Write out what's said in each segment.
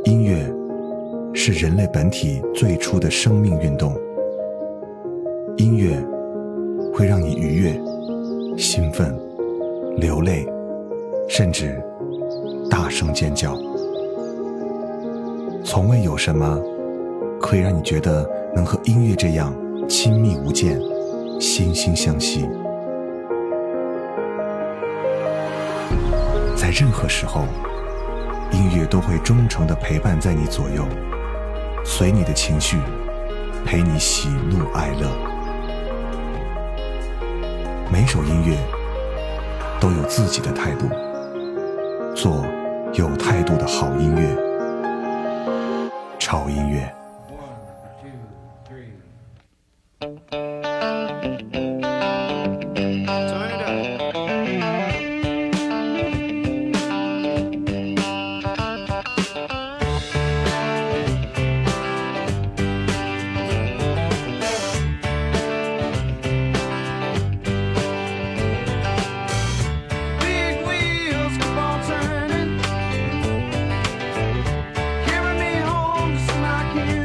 音乐是人类本体最初的生命运动，音乐会让你愉悦、兴奋、流泪，甚至大声尖叫。从未有什么可以让你觉得能和音乐这样亲密无间、惺惺相惜。在任何时候，音乐都会忠诚地陪伴在你左右，随你的情绪，陪你喜怒哀乐。每首音乐都有自己的态度，做有态度的好音乐。超音乐。 Carry me home to my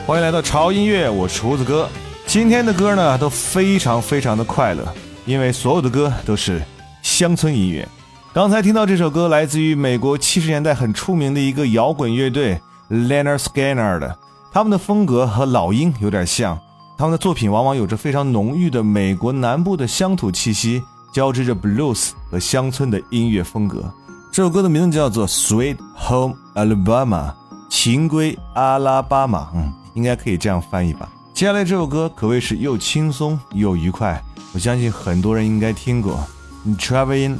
欢迎来到潮音乐，我是胡子哥。今天的歌呢都非常的快乐，因为所有的歌都是乡村音乐。刚才听到这首歌来自于美国70年代很出名的一个摇滚乐队 Lynyrd Skynyrd， 他们的风格和老鹰有点像，他们的作品往往有着非常浓郁的美国南部的乡土气息，交织着 blues 和乡村的音乐风格。这首歌的名字叫做 Sweet Home Alabama， 情归阿拉巴马，应该可以这样翻译吧。接下来这首歌可谓是又轻松又愉快，我相信很多人应该听过 Traveling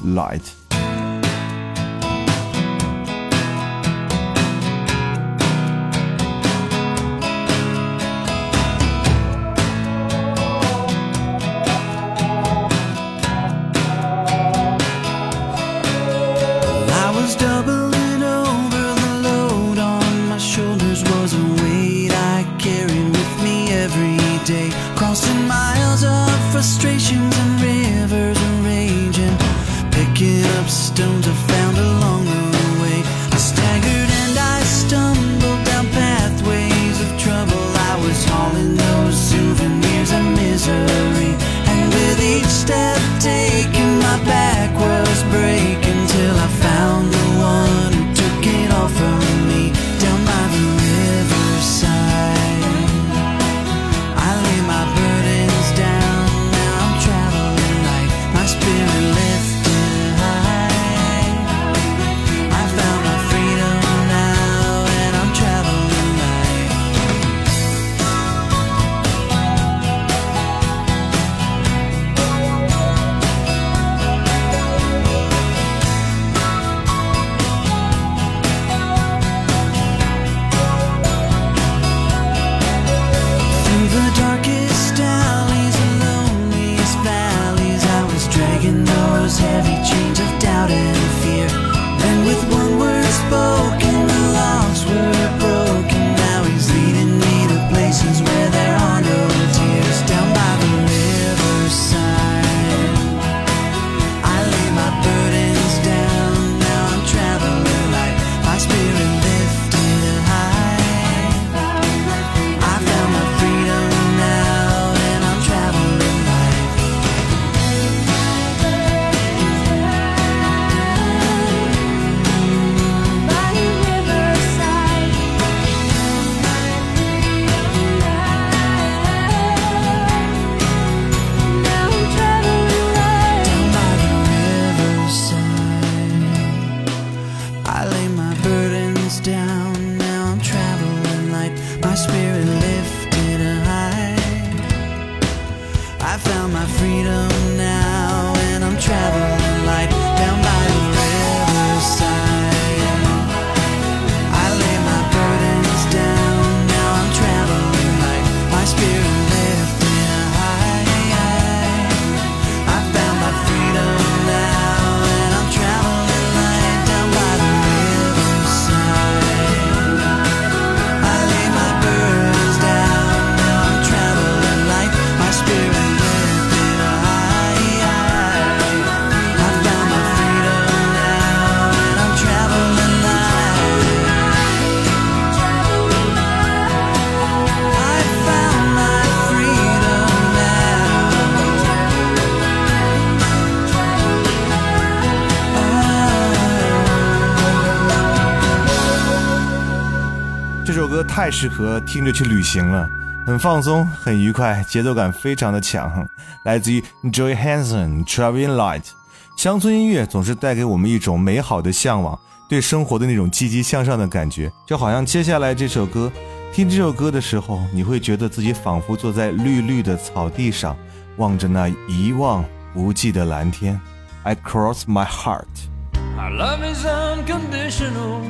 Light。 这首歌太适合听着去旅行了，很放松很愉快，节奏感非常的强，来自于 Joy Hanson Traveling Light。 乡村音乐总是带给我们一种美好的向往，对生活的那种积极向上的感觉，就好像接下来这首歌，听这首歌的时候，你会觉得自己仿佛坐在绿绿的草地上，望着那一望无际的蓝天。 I cross my heart。 Our love is unconditional,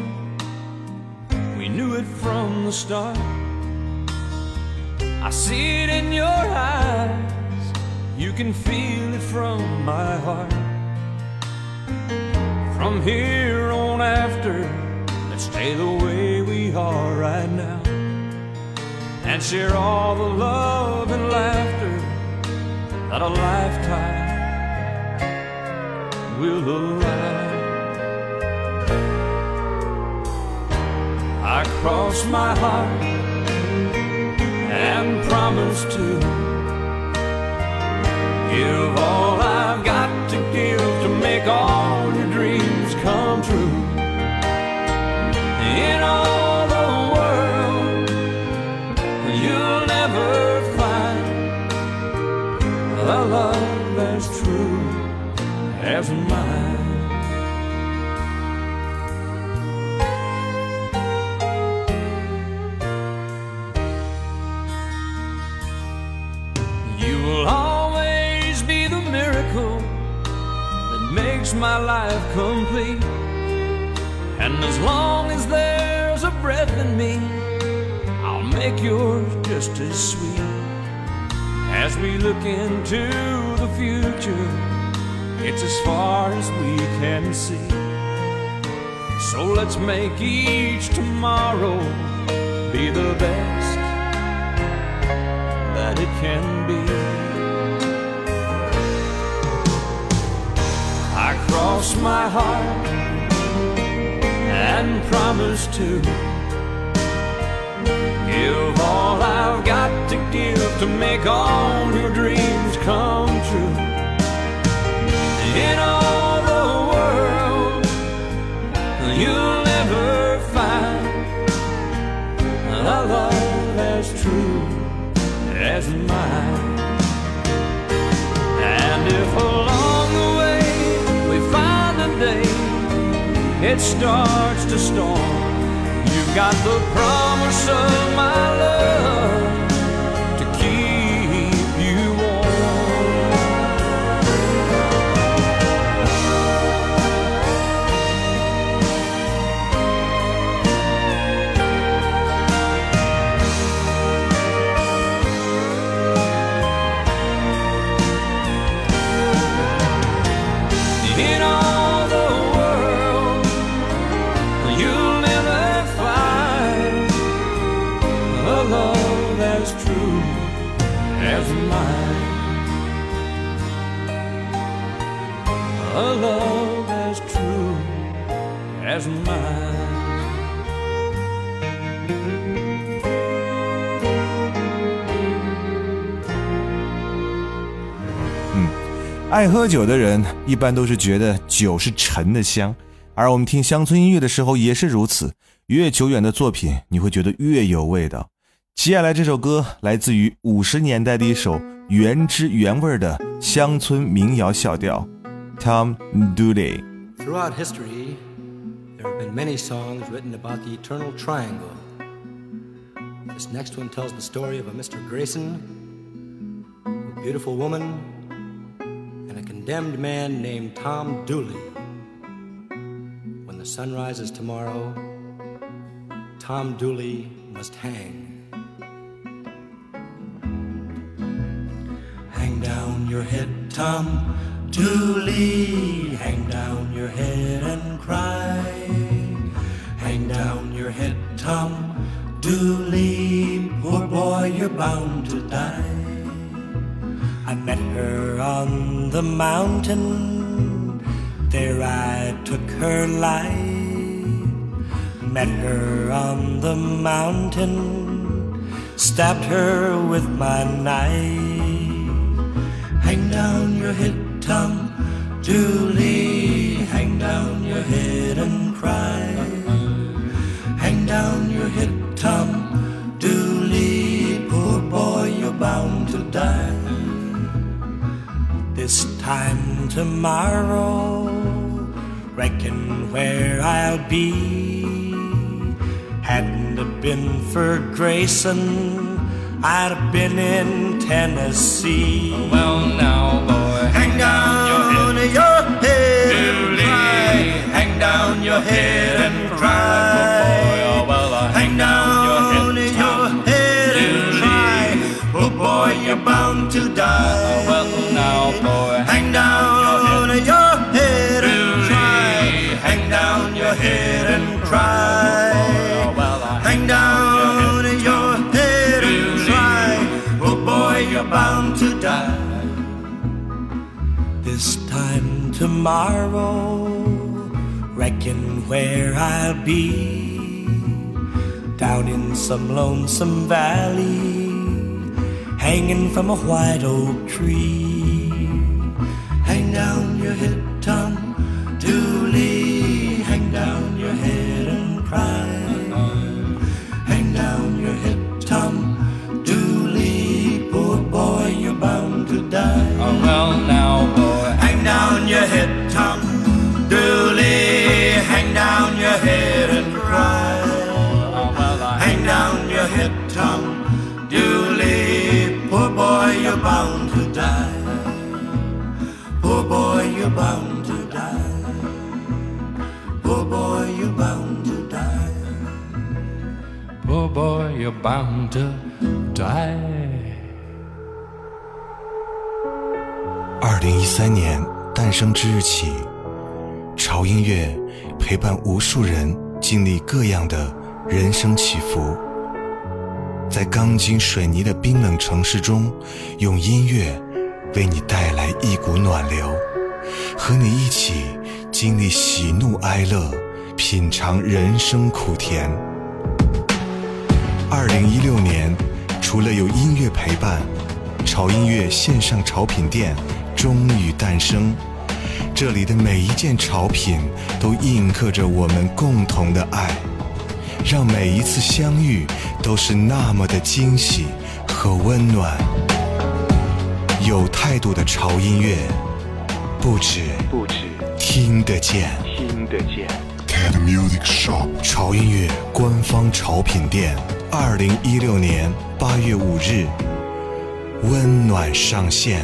we knew it from the start. I see it in your eyes, you can feel it from my heart. From here on after, let's stay the way we are right now, and share all the love and laughter that a lifetime will allow. I cross my heart, promise to give all I've got to give to make all your dreams come true. In all the world, you'll never find a love as true as mine. You will always be the miracle that makes my life complete. And as long as there's a breath in me, I'll make yours just as sweet. As we look into the future, it's as far as we can see. So let's make each tomorrow be the best that it can be. I cross my heart and promise to give all I've got to give to make all your dreams come true. In all the world, you'll never find a love as true as mine. And if along the way we find a day it starts to storm, you've got the promise of my love to keep you warm. In all the world, you'll never find a love as true as mine. A love as true as mine. 爱喝酒的人一般都是觉得酒是陈的香，而我们听乡村音乐的时候也是如此，越久远的作品你会觉得越有味道。接下来这首歌来自于50年代的一首原汁原味的乡村民谣小调 Tom Dooley。 Throughout history, there have been many songs written about the eternal triangle. This next one tells the story of a Mr. Grayson, a beautiful woman, and a condemned man named Tom Dooley. When the sun rises tomorrow, Tom Dooley must hang. Hang down your head, Tom Dooley, hang down your head and cry. Hang down your head, Tom Dooley, poor boy, you're bound to die. I met her on the mountain, there I took her life. Met her on the mountain, stabbed her with my knife. Hang down your head, Tom Dooley, hang down your head and cry. Hang down your head, Tom Dooley, poor boy, you're bound to die. This time tomorrow, reckon where I'll be. Hadn't it been for Grayson, I'd have been in Tennessee. Well, now, boy, hang down your head and cry. Hang down your head and cry. Hang down your head and cry. Oh boy, you're bound to die. well, now, boy, Hang down your head and cry. Hang down your head and cry. Hang down your head and cry. Oh boy, you're bound to die. This time tomorrow, reckon where I'll be. Down in some lonesome valley, hanging from a white oak tree. Hang down your head, Tom Dooley, hang down your head and cry. Hang down your head, Tom Dooley, poor boy, you're bound to die. Oh, well, now, boy, hang down your head, Tom Dooley, hang down your head and cry. oh, well, Hang down your head, Tom Dooley, poor boy, you're bound to die. Poor boy, you're bound to die. Poor boy, you're bound to die. poor boy, you're bound to die. 2013年诞生之日起，潮音乐陪伴无数人经历各样的人生起伏，在钢筋水泥的冰冷城市中，用音乐为你带来一股暖流，和你一起经历喜怒哀乐，品尝人生苦甜。2016年，除了有音乐陪伴，潮音乐线上潮品店终于诞生。这里的每一件潮品都印刻着我们共同的爱，让每一次相遇都是那么的惊喜和温暖。有态度的潮音乐，不止听得见。Cat Music Shop 潮音乐官方潮品店，2016年8月5日温暖上线。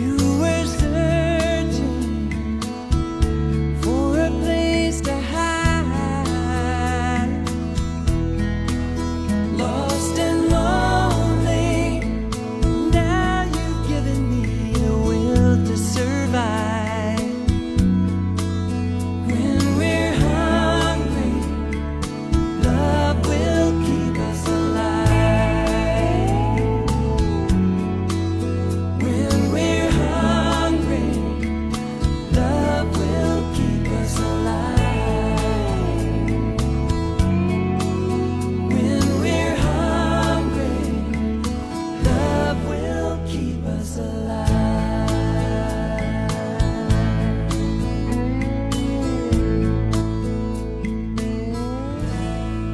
To hide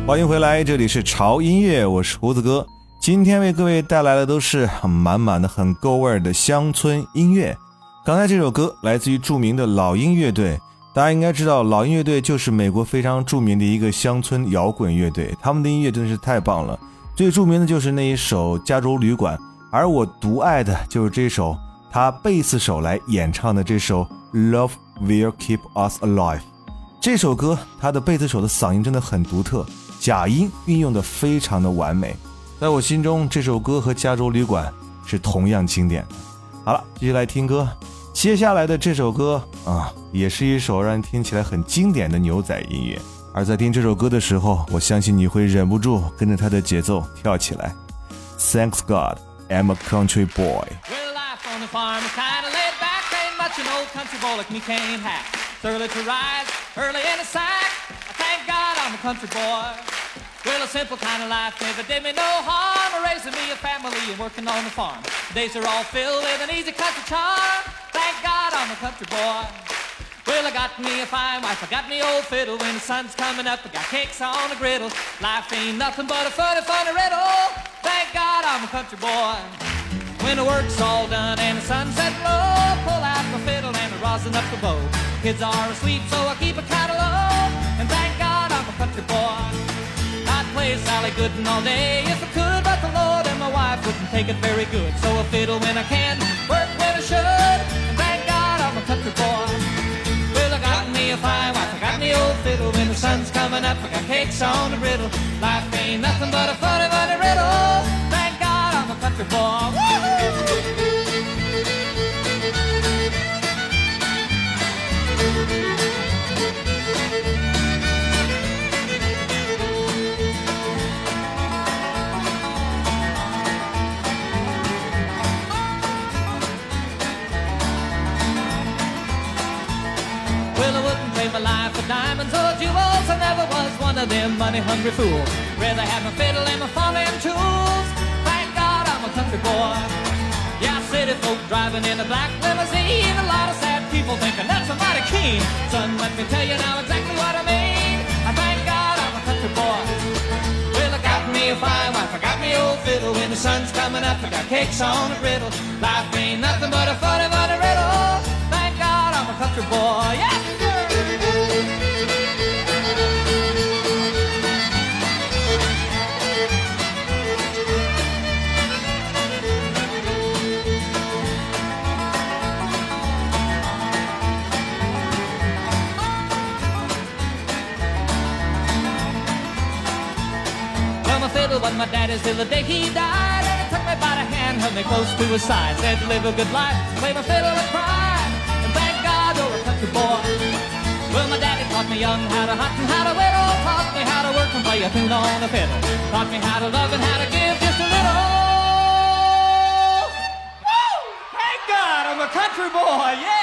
欢迎回来，这里是潮音乐，我是胡子哥。今天为各位带来的都是满满的很够味的乡村音乐。刚才这首歌来自于著名的老鹰乐队，大家应该知道老鹰乐队就是美国非常著名的一个乡村摇滚乐队，他们的音乐真的是太棒了。最著名的就是那一首《加州旅馆》，而我独爱的就是这首他贝斯手来演唱的这首 Love Will Keep Us Alive。 这首歌他的贝斯手的嗓音真的很独特，假音运用的非常的完美，在我心中这首歌和加州旅馆是同样经典的。好了，继续来听歌。接下来的这首歌也是一首让人听起来很经典的牛仔音乐，而在听这首歌的时候，我相信你会忍不住跟着它的节奏跳起来。 Thanks God I'm a country boy。 Well, life on the farm is kinda laid back. Ain't much an old country boy like me can't hack. It's early to rise, early in the sack. I thank God I'm a country boy. Well, a simple kind of life never did me no harm. Raising me a family and working on the farm. Days are all filled with an easy country charm. Thank God I'm a country boy. Well, I got me a fine wife, I got me old fiddle. When the sun's coming up, I got cakes on the griddle. Life ain't nothing but a funny, funny riddle. Thank God I'm a country boy. When the work's all done and the sunset low, pull out my fiddle and I rosin up the bow. Kids are asleep, so I keep it kinda low. And thank God I'm a country boy. I'd play Sally Gooden all day if I could, but the Lord and my wife wouldn't take it very good. So I fiddle when I can, work when I should, and thank God I'm a country boy. Well, I got me a fine wife, I got me old fiddle. When the sun's coming up, I got cakes on the griddle. Life ain't nothing but a funny, funny riddle. Thank God I'm a country boy. Woo-hoo! My life for diamonds or jewels, I never was one of them money-hungry fools. Rather have my fiddle and my farming tools. Thank God I'm a country boy. Yeah, city folk driving in a black limousine. A lot of sad people thinking that's a mighty keen. Son, let me tell you now exactly what I mean. I thank God I'm a country boy. Well, I got me a fine wife, I got me old fiddle. When the sun's coming up, I got cakes on the griddle. Life ain't nothing but a funny, funny riddle. Thank God I'm a country boy. Yeah! Fiddle was my daddy's till the day he died, and he took me by the hand, held me close to his side, said to live a good life, play my fiddle and cry, and thank God you're a country boy. Well, my daddy taught me young how to hunt and how to whittle, taught me how to work and play a tune on the fiddle, taught me how to love and how to give just a little. Woo! Thank God I'm a country boy, yeah!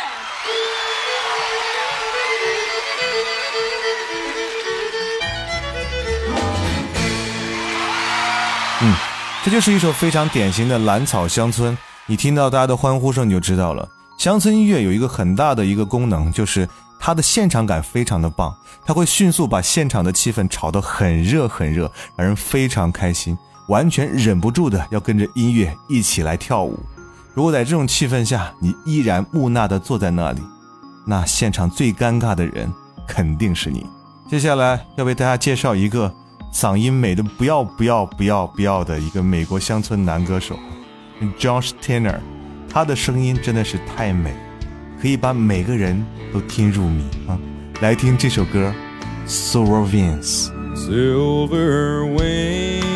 这就是一首非常典型的蓝草乡村，你听到大家的欢呼声你就知道了。乡村音乐有一个很大的一个功能，就是它的现场感非常的棒，它会迅速把现场的气氛炒得很热很热，让人非常开心，完全忍不住的要跟着音乐一起来跳舞。如果在这种气氛下你依然木讷的坐在那里，那现场最尴尬的人肯定是你。接下来要为大家介绍一个嗓音美的不要的一个美国乡村男歌手 Josh Tanner， 他的声音真的是太美，可以把每个人都听入迷啊！来听这首歌 Silver Wings。 Silver wings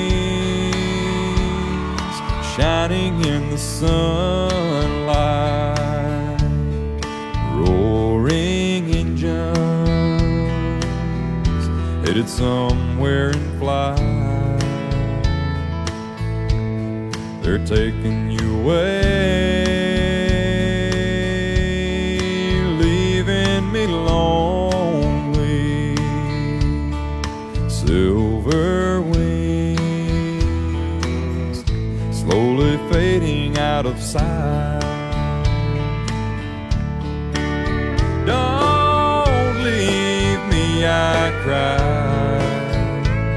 shining in the sunlight, roaring engines headed somewhere in flight. They're taking you away, leaving me lonely. Silver wings slowly fading out of sight. Don't leave me, I cried.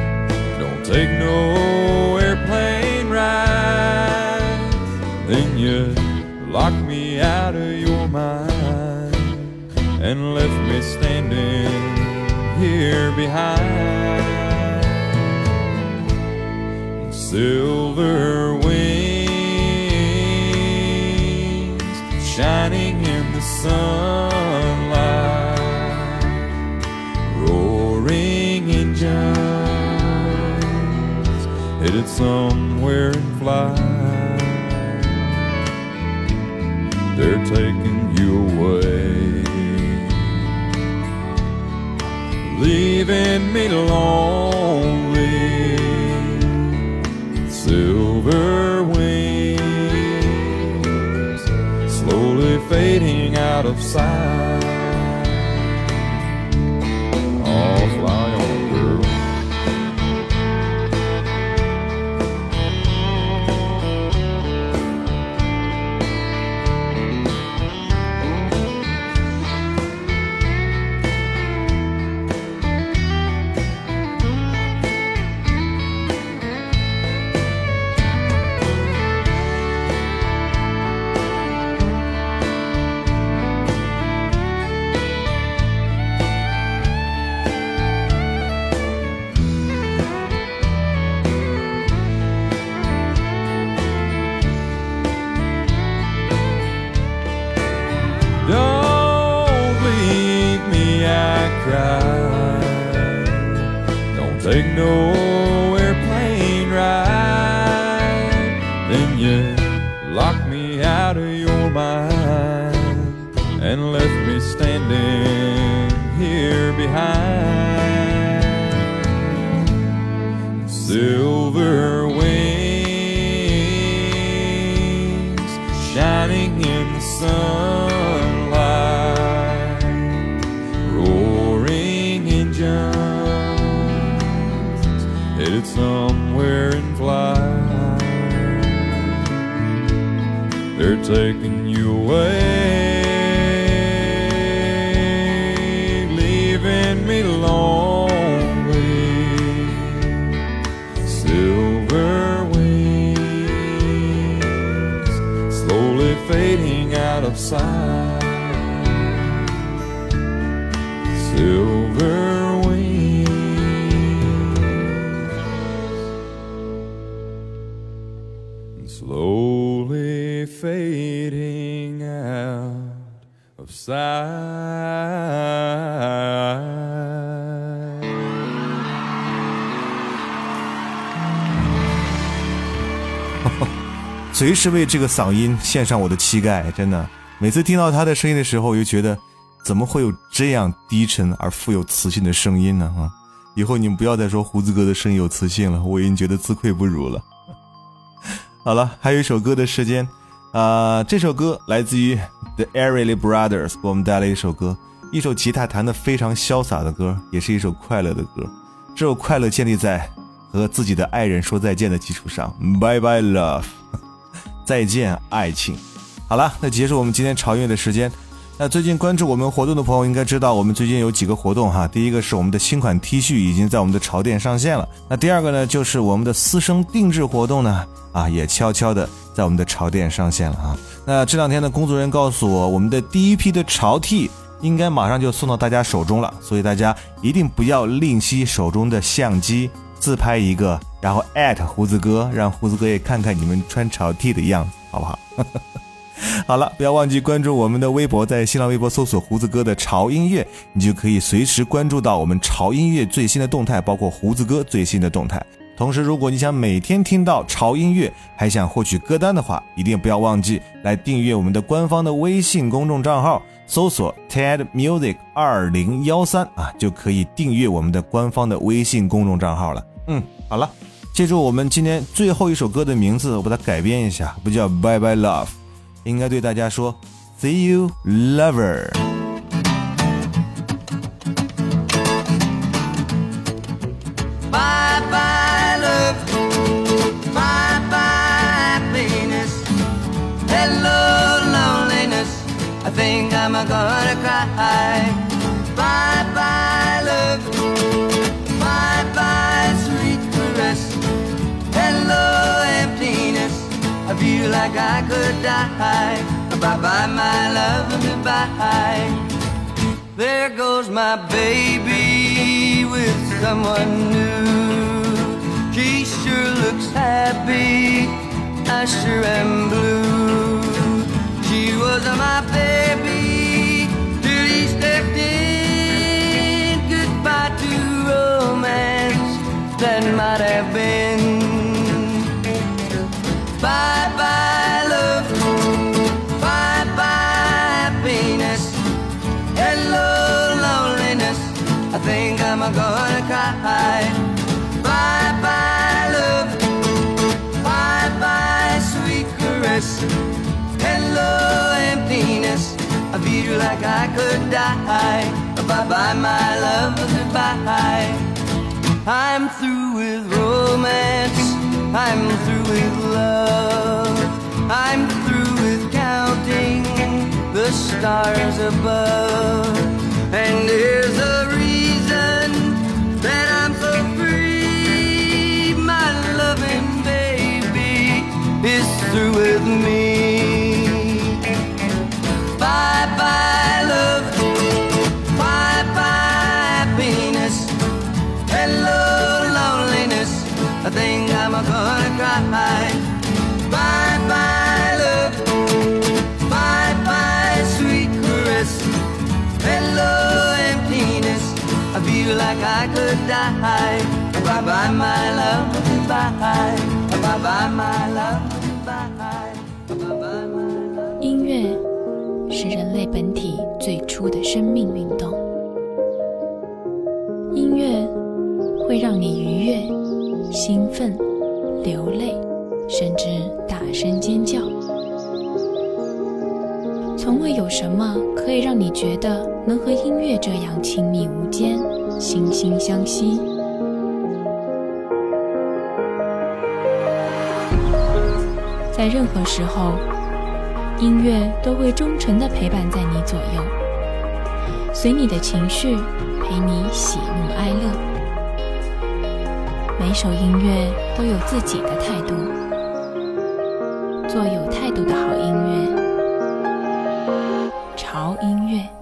here behind. Silver wings shining in the sunlight, roaring engines headed somewhere in flight. They're taking you away, leaving me lonely. Silver wings slowly fading out of sight. Oh, fly on, girl. Don't leave me, I cried. Don't take no airplane ride. Then you locked me out of your mind and left me standing here behind. Silver wings shining in the sun, headed somewhere in flight. They're taking you away, leaving me lonely. Silver wings slowly fading out of sight. Silver slowly fading out of sight. 随时为这个嗓音献上我的膝盖，真的。每次听到他的声音的时候，我就觉得怎么会有这样低沉而富有磁性的声音呢？以后你们不要再说胡子哥的声音有磁性了，我已经觉得自愧不如了。好了，还有一首歌的时间，这首歌来自于 The Everly Brothers 给我们带来一首歌，一首吉他弹得非常潇洒的歌，也是一首快乐的歌。这首快乐建立在和自己的爱人说再见的基础上 ，Bye Bye Love， 再见爱情。好了，那结束我们今天潮音乐的时间。那最近关注我们活动的朋友应该知道，我们最近有几个活动哈。第一个是我们的新款 T 恤已经在我们的潮店上线了。那第二个呢，就是我们的私生定制活动呢，也悄悄的在我们的潮店上线了啊。那这两天的工作人员告诉我，我们的第一批的潮 T 应该马上就送到大家手中了，所以大家一定不要吝惜手中的相机，自拍一个，然后胡子哥，让胡子哥也看看你们穿潮 T 的样子，好不好？好了，不要忘记关注我们的微博，在新浪微博搜索胡子哥的潮音乐，你就可以随时关注到我们潮音乐最新的动态，包括胡子哥最新的动态。同时，如果你想每天听到潮音乐，还想获取歌单的话，一定不要忘记来订阅我们的官方的微信公众账号，搜索 TED Music 2013就可以订阅我们的官方的微信公众账号了。好了，记住我们今天最后一首歌的名字，我把它改编一下，不叫 Bye Bye Love， 应该对大家说 See you Lover。 I think I'm gonna cry. Bye bye love, bye bye sweet caress. Hello emptiness, I feel like I could die. Bye bye my love, goodbye. There goes my baby with someone new. She sure looks happy, I sure am blue. She was my baby till he stepped in. Goodbye to romance that might have been. Bye-bye love, bye-bye happiness. Hello loneliness, I think I'm gonna cry. Bye-bye love, bye-bye sweet caress. Hello emptiness, I feel like I could die. Bye-bye my love, goodbye. I'm through with romance, I'm through with love. I'm through with counting the stars above. And there's a reason that I'm so free. My loving baby is through with me. Bye-bye love, bye-bye happiness. Hello loneliness, I think I'm gonna cry. Bye-bye love, bye-bye sweet caress. Hello emptiness, I feel like I could die. Bye-bye my love, goodbye. Bye-bye my love, goodbye. Bye-bye my love. 音乐是人类本体最初的生命运动。音乐会让你愉悦、兴奋、流泪，甚至大声尖叫。从未有什么可以让你觉得能和音乐这样亲密无间、惺惺相惜。在任何时候，音乐都会忠诚地陪伴在你左右，随你的情绪，陪你喜怒哀乐。每首音乐都有自己的态度，做有态度的好音乐，潮音乐。